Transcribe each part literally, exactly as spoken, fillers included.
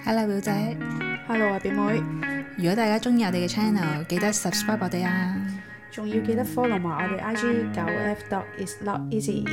Hello 表姐 Hello 啊表妹， 如果大家中意我哋嘅 channel， 記得 subscribe 我哋啊， 仲要記得 follow 埋我哋 I G 九 F dot is not easy。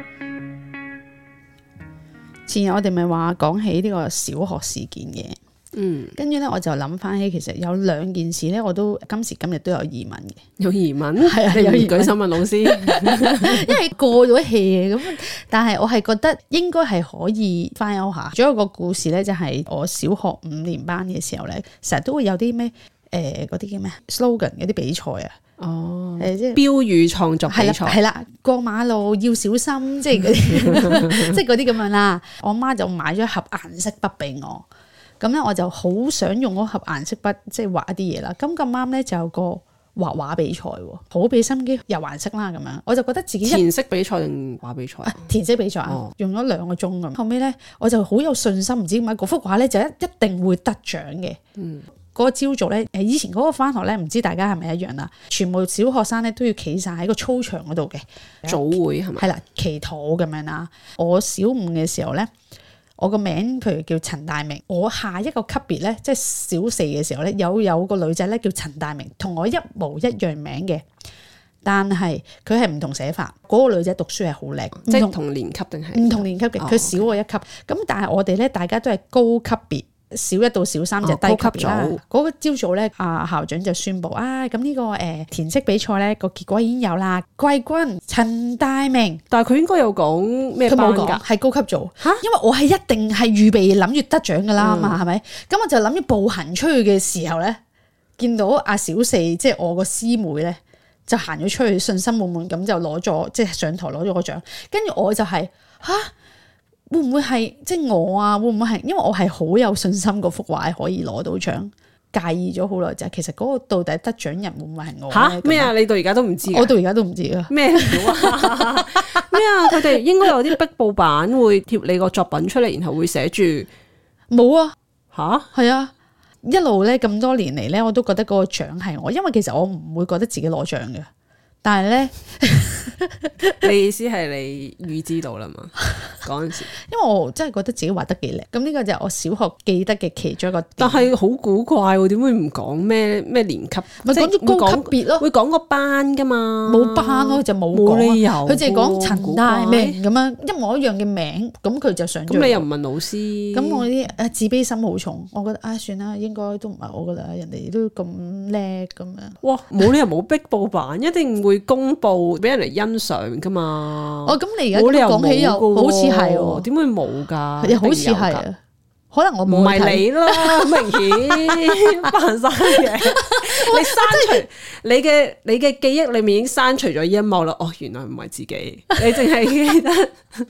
前日我哋咪話講起呢個小學事件嘅，嗯，跟住咧我就諗翻起，其實有兩件事咧，我都今時今日都有疑問嘅。 有疑問？ 係啊，有疑問。 舉手問老師， 因為過咗氣嘅咁，但係我係覺得應該係可以翻休下。仲有一個故事咧，就係我小學五年班嘅時候咧，成日都會有啲咩誒嗰啲叫咩 slogan 嗰啲比賽啊。哦，誒即係標語創作比賽， 係啦，過馬路要小心，即係嗰啲，即係嗰啲咁樣啦。我媽就買咗一盒顏色筆俾我，咁咧我就好想用嗰盒顏色筆，即係畫一啲嘢啦。咁咁啱咧就有個畫畫比賽，好俾心機油顏色啦，咁樣我就覺得自己填色比賽定畫比賽？ 填色比賽啊，哦、用咗兩個鐘咁。後尾咧我就好有信心，唔知點解嗰幅畫咧就一一定會得獎嘅。嗯。嗰個朝早咧，誒以前嗰個返學咧，唔知大家係咪一樣啦？全部小學生咧都要企晒喺個操場嗰度嘅早會係咪？ 係啦，祈禱咁樣啦。我小五嘅時候咧，我個名譬如叫陳大明，我下一個級別咧，即係小四嘅時候咧，有有個女仔咧叫陳大明，同我一模一樣名嘅，但係佢係唔同寫法。嗰、那個女仔讀書係好叻， 即係同年級定係唔同年級嘅，佢、哦、少我一級。咁、okay. 但係我哋咧，大家都係高級別。小一到小三就低級別啦。嗰、哦、個朝早咧，啊校長就宣布啊，咁呢、這個誒、呃、填色比賽咧個結果已經有啦，季軍陳大明。 但係佢應該有講咩班㗎？ 係高級組嚇，因為我係一定係預備諗住得獎㗎啦嘛，係、嗯、咪？咁我就諗住步行出去嘅時候咧，見到阿小四即係我個師妹咧，就行咗出去，信心滿滿咁就攞咗即係上台攞咗個獎，跟住我就係、是、嚇。會唔會係即係我啊？會唔會係因為我係好有信心嗰幅畫可以攞到獎？介意咗好耐就係其實嗰個到底得獎人會唔會係我？ 嚇咩啊？你到而家都唔知？ 我到而家都唔知啊！咩料啊？咩啊？佢哋應該有啲壁報板會貼你個作品出嚟，然後會寫住冇啊？ 吓？ 係啊！一路咧咁多年嚟咧，我都覺得嗰個獎係我，因為其實我唔會覺得自己攞獎嘅。但係咧， 你意思係你預知到啦嘛？嗰陣時， 因為我真係覺得自己畫得幾叻，咁呢個就係我小學記得嘅其中一個點。 但係好古怪喎，點會唔講咩咩年級？ 咪講咗高級別咯， 會講個班噶嘛？ 冇班咯，就冇冇理由， 佢淨係講陳大明咁樣一模一樣嘅名，咁佢就上咗。 咁你又唔問老師？ 咁我啲誒自卑心好重，我覺得啊、哎、算啦，應該都唔係我噶啦，人哋都咁叻咁樣。 哇！冇理由冇壁報板，一定會公佈俾人嚟欣賞噶嘛。 哦，咁你而家講起又好似係喎， 點會冇㗎？ 又好似係啊，可能我冇唔係你啦，好明顯扮晒嘢。你刪除你嘅你嘅記憶裏面已經刪除咗呢一幕啦。哦，原來唔係自己，你淨係記得。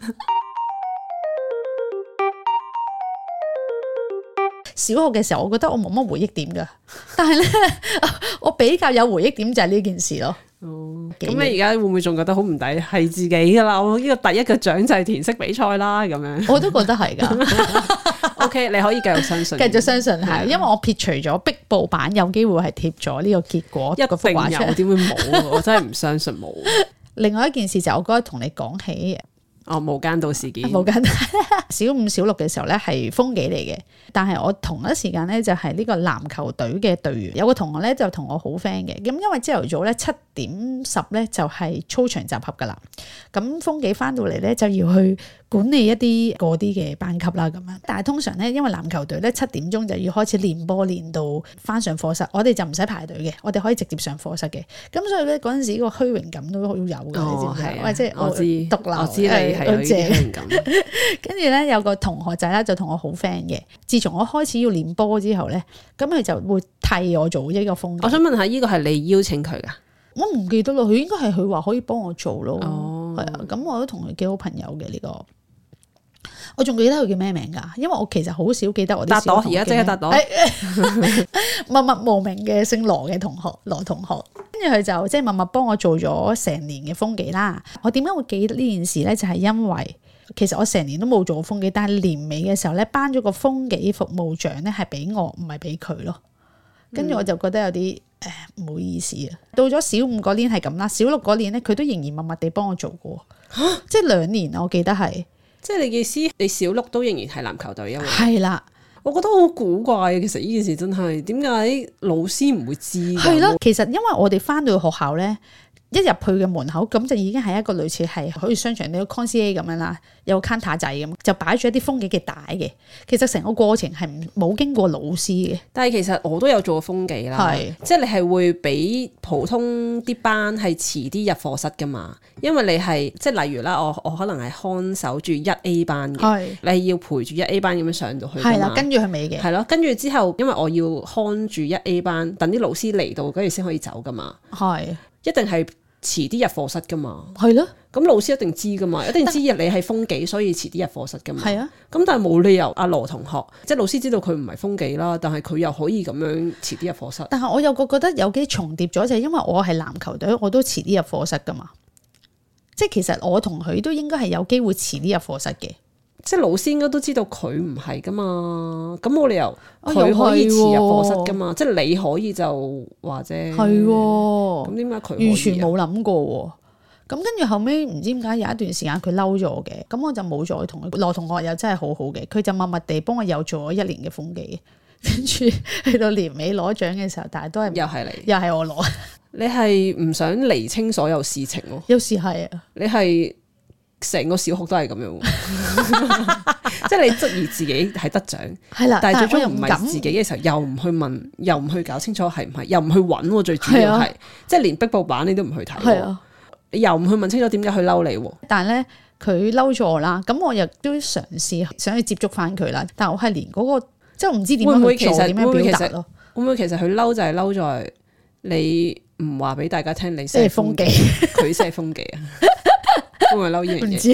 小學嘅時候，我覺得我冇乜回憶點㗎，但係咧，我比較有回憶點就係呢件事咯。 哦，咁你而家會唔會仲覺得好唔抵？係自己㗎啦，我呢個第一個獎就係填色比賽啦，咁樣。 我都覺得係㗎。 O K， 你可以繼續相信， 繼續相信係，因為我撇除咗壁報板有機會係貼咗呢個結果， 一定有，點會冇？我真係唔相信冇。 另外一件事就我覺得同你講起。 哦，無間道事件。無間道小五小六嘅時候咧係風紀嚟嘅，但係我同一時間咧就係呢個籃球隊嘅隊員，有個同學咧就同我好 friend 嘅，咁因為朝頭早咧七點十咧就係操場集合噶啦，咁風紀翻到嚟咧就要去管理一啲嗰啲嘅班級啦咁樣，但係通常咧因為籃球隊咧七點鐘就要開始練波練到翻上課室，我哋就唔使排隊嘅，我哋可以直接上課室嘅，咁所以咧嗰陣時個虛榮感都好有嘅，哦、你知唔知啊？或者我知獨立， 我知你。係有啲興感， 跟住咧有個同學仔咧就同我好 friend 嘅。自從我開始要練波之後咧，咁佢就會替我做呢個風紀。 我想問下，呢個係你邀請佢噶？ 我唔記得咯，佢應該係佢話可以幫我做咯。哦，係啊，咁我都同佢幾好朋友嘅呢個。我仲記得佢叫咩名噶？因為我其實好少記得我啲小同學。而家即刻答到，默默無名嘅姓羅嘅同學，羅同學。跟住佢就即係默默幫我做咗成年嘅風紀啦。我點解會記得呢件事咧？就係因為其實我成年都冇做過風紀，但係年尾嘅時候咧，頒咗個風紀服務獎咧係俾我，唔係俾佢咯。跟住我就覺得有啲誒唔好意思啊。到咗小五嗰年係咁啦，小六嗰年咧佢都仍然默默地幫我做過，即係兩年我記得係。 即係你嘅意思，你小六都仍然係籃球隊啊嘛？ 係啦。 我覺得好古怪嘅。其實呢件事真係點解老師唔會知？ 係咯，其實因為我哋翻到去學校咧。一入去嘅門口咁就已經係一個類似係好似商場你個 concierge 咁樣啦，有個 counter 仔咁，就擺咗一啲風紀嘅帶嘅。其實成個過程係冇經過老師嘅。但係其實我都有做過風紀啦，係即係你係會比普通啲班係遲啲入課室噶嘛，因為你係即係例如啦，我我可能係看守住一 A 班嘅，你係要陪住一 A 班咁樣上到去， 係啦，跟住佢尾嘅， 係咯，跟住之後因為我要看住一 A 班，等啲老師嚟到跟住先可以走噶嘛，係。一定係遲啲入課室噶嘛，係咯，咁老師一定知噶嘛，一定知你係風紀，所以遲啲入課室噶嘛，係啊，咁但係冇理由阿羅同學，即係老師知道佢唔係風紀啦，但係佢又可以咁樣遲啲入課室。但係我又覺覺得有幾重疊咗，就係因為我係籃球隊，我都遲啲入課室噶嘛，即係其實我同佢都應該係有機會遲啲入課室嘅。即係老師應該都知道佢唔係噶嘛，咁冇理由佢可以遲入課室噶嘛，即係你可以就話啫。係咁點解佢完全冇諗過？咁跟住後尾唔知點解有一段時間佢嬲咗嘅，咁我就冇再同佢。羅同學又真係好好嘅，佢就默默地幫我又做咗一年嘅風紀，跟住去到年尾攞獎嘅時候，但係都係又係你，又係我攞。你係唔想釐清所有事情咯？有時係啊，你係。成個小學都係咁樣，即係你質疑自己係得獎，係啦，但係最終唔係自己嘅時候，又唔去問，又唔去搞清楚係唔係，又唔去揾，最主要係，啊、即係連壁報版你都唔去睇，係啊，又唔去問清楚點解佢嬲你，但係咧佢嬲咗我啦，咁我又都嘗試想去接觸翻佢啦，但係我係連嗰、嗰個即係唔知點樣去做，點樣表達咯，會唔會其實佢嬲就係嬲在你唔話俾大家聽你係風紀，佢先係風紀啊？會唔會嬲呢樣嘢？唔知。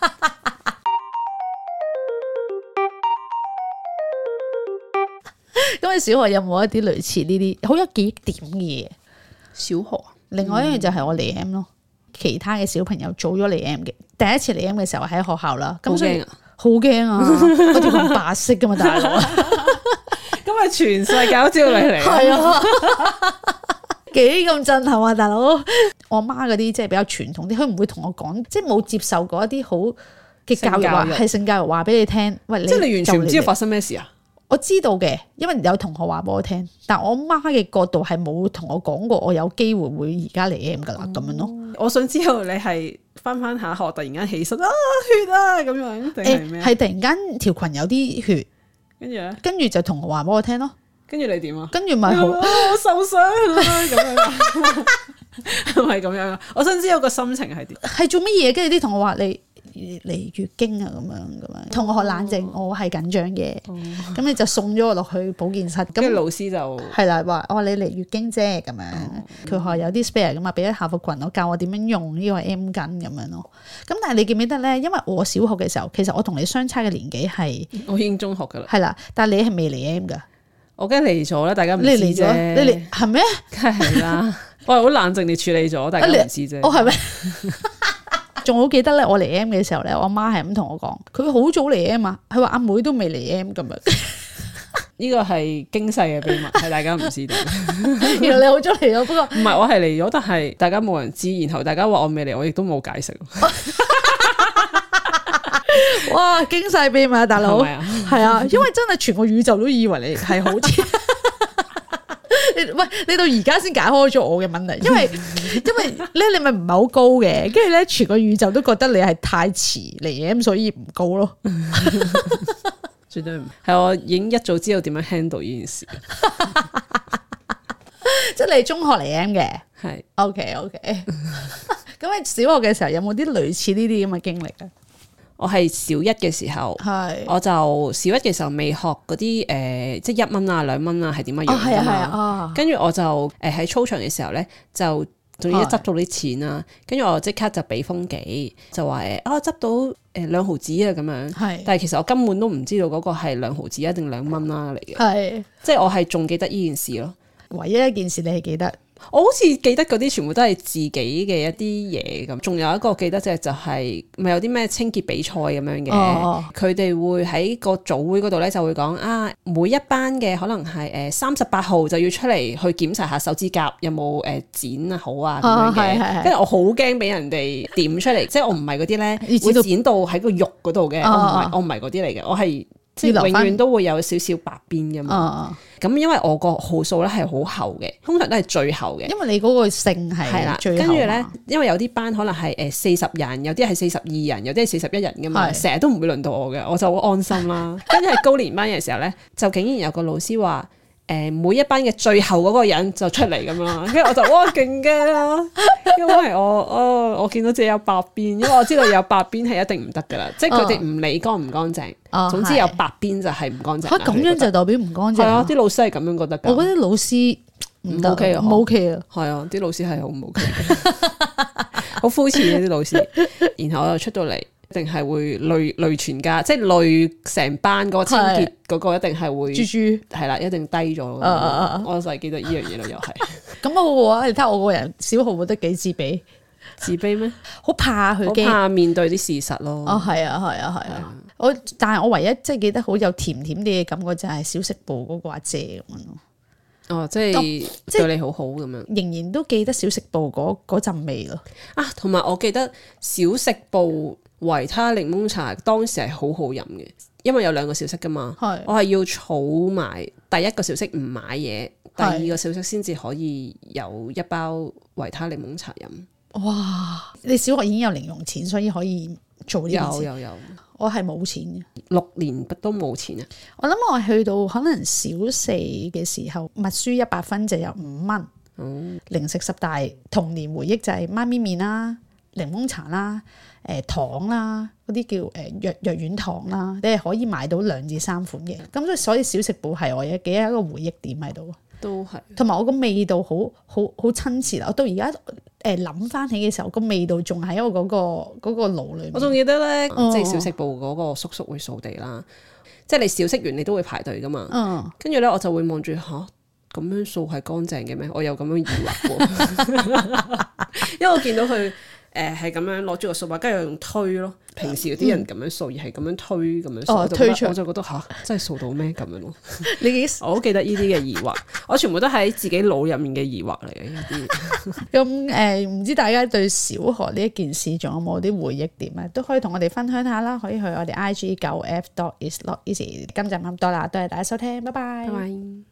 咁你小學有冇一啲類似呢啲好有記憶點嘅嘢？小學，另外一樣就係我嚟 M 咯，嗯、其他嘅小朋友早咗嚟 M 嘅，第一次嚟 M 嘅時候喺學校啦，咁所以好驚啊！嗰條咁白色噶嘛，大佬，咁咪全世界都知道你嚟，係啊。幾咁震撼啊，大佬！我媽嗰啲即係比較傳統啲，佢唔會同我講，即係冇接受過一啲好嘅教育，話係性教育話俾你聽。喂，即係你完全唔知道發生咩事啊？我知道嘅，因為有同學話俾我聽，但我媽嘅角度係冇同我講過，我有機會會而家嚟 M 噶啦，咁、嗯、樣咯。我想知道你係翻翻下學，突然間起身啊血啊咁樣，定係咩？係、欸、突然間條裙有啲血，跟住咧，跟住就同學話俾我聽咯。跟住你點啊？跟住咪好，我受傷啦咁樣，係咪咁樣啊？我想知道個心情係點？係做乜嘢？跟住啲同學話你嚟月經啊咁樣咁樣，同學冷靜，哦、我係緊張嘅。咁、哦、你就送咗我落去保健室，咁老師就係啦，話我話你嚟月經啫咁樣。佢話、哦、有啲 spare 咁啊，俾咗校服裙我，教我點樣用呢個 M 巾咁樣咯。咁但係你記唔記得咧？因為我小學嘅時候，其實我同你相差嘅年紀係我已經中學噶啦，係啦，但係你係未嚟 M 噶。我梗係嚟咗啦，大家唔知啫。你嚟係咩？梗係啦，我係好冷靜地處理咗，大家唔知啫。哦，係咩？仲好記得咧，我嚟 M 嘅時候咧，我阿媽係咁同我講，佢好早嚟 M 啊，佢話阿妹都未嚟 M 咁樣。呢個係驚世嘅秘密，係大家唔知道。原來你好早嚟咗，不過唔係我係嚟咗，但係大家冇人知，然後大家話我未嚟，我亦都冇解釋。哇！驚世秘密啊，大佬，係啊，因為真係全個宇宙都以為你係好似，喂，你到而家先解開咗我嘅問題，因為因為咧你咪唔係好高嘅，跟住咧全個宇宙都覺得你係太遲嚟 M，所以唔高咯。絕對唔係，我已經一早知道點樣 handle 呢件事。即係你中學嚟 M 嘅，係 OK OK。咁你小學嘅時候有冇啲類似呢啲咁嘅經歷啊？我係小一嘅時候，係我就小一嘅時候未學嗰啲誒，即係一蚊啊、兩蚊啊係點樣樣㗎嘛。跟住我就誒喺操場嘅時候咧，就總之執到啲錢啦，跟住我即刻就俾風紀，就話誒啊執到誒兩毫子啊咁樣。係，但係其實我根本都唔知道嗰個係兩毫子啊定兩蚊啦嚟嘅。係，即係我係仲記得呢件事咯。唯一一件事你係記得。我好似記得嗰啲全部都係自己嘅一啲嘢咁，仲有一個記得就係就係咪有啲咩清潔比賽咁樣嘅，佢哋、哦、會喺個組會嗰度咧就會講啊，每一班嘅可能係誒三十八號就要出嚟去檢查下手指甲有冇誒剪啊好啊咁樣嘅，跟住、哦、我好驚俾人哋點出嚟，即係我唔係嗰啲咧會剪到喺個肉嗰度嘅，我唔係我唔係嗰啲嚟嘅，我係。 即係永遠都會有少少白邊噶嘛。咁、嗯、因為我個號數咧係好厚嘅，通常都係最後嘅。 因為你嗰個姓係最後。 跟住咧，因為有啲班可能係誒四十人，有啲係四十二人，有啲係四十一人噶嘛，成日都唔會輪到我嘅，我就好安心啦。跟住係高年班嘅時候咧，就竟然有個老師話。誒每一班嘅最後嗰個人就出嚟咁樣啦，跟住我就哇勁驚啦，因為我哦我見到自己有白邊，因為我知道有白邊係一定唔得噶啦，即係佢哋唔理乾唔乾淨，哦、總之有白邊就係唔乾淨。嚇咁、啊、樣就代表唔乾淨？係啊，啲老師係咁樣覺得㗎。 我覺得老師唔 OK 啊，唔 OK 啊， 係啊，啲老師係好唔 OK 嘅，好膚淺嘅啲老師。然後我又出到嚟。一定係會累累全家，即係累成班嗰個清潔嗰個一定係會豬豬係啦，一定低咗。Uh, uh, uh, 我就係記得呢樣嘢咯，又係咁我嘅話，你睇下我個人小號覺得幾自卑， 自卑咩？ 好怕佢， 好怕面對啲事實咯。 哦，係啊，係啊，係啊。啊我但係我唯一即係記得好有甜甜啲嘅感覺就係小食部嗰個阿姐咁樣咯。 哦，即係對你好好咁樣， 仍然都記得小食部嗰嗰陣味咯。 啊，同埋我記得小食部。維他檸檬茶當時係好好飲嘅，因為有兩個小息噶嘛，是我係要儲埋第一個小息唔買嘢，是第二個小息先至可以有一包維他檸檬茶飲。哇！ 你小學已經有零用錢，所以可以做呢件事。 有有有，我係冇錢嘅， 六年都冇錢啊！ 我諗我去到可能小四嘅時候，默書一百分就有五蚊。嗯，零食十大童年回憶就係媽咪麵啦、檸檬茶啦。誒、呃、糖啦，嗰啲叫誒藥藥丸糖啦，你係可以買到兩至三款嘅，咁所以所以小食部係我嘅幾一個回憶點喺度， 都係是。同埋我個味道好好好親切啦，我到而家誒諗翻起嘅時候，個味道仲喺我嗰個嗰個腦裏面。我仲記得咧，哦、即係小食部嗰個叔叔會掃地啦，即係你小食完你都會排隊噶嘛，嗯，跟住咧我就會望住吓，咁樣掃係乾淨嘅咩？我有咁樣疑惑喎，因為我見到佢。誒係咁樣攞住個掃把，跟住用推咯。平時啲人咁樣掃，而係咁樣推咁樣掃，哦、推出我就覺得吓，真係掃到咩咁樣咯？你幾我好記得呢啲嘅疑惑，我全部都喺自己腦入面嘅疑惑嚟嘅呢啲。 咁誒，唔知大家對小學呢一件事仲有冇啲回憶點咧？都可以同我哋分享下啦。可以去我哋 I G 九 F dot is not easy。今集咁多啦，多謝大家收聽，拜拜。拜拜。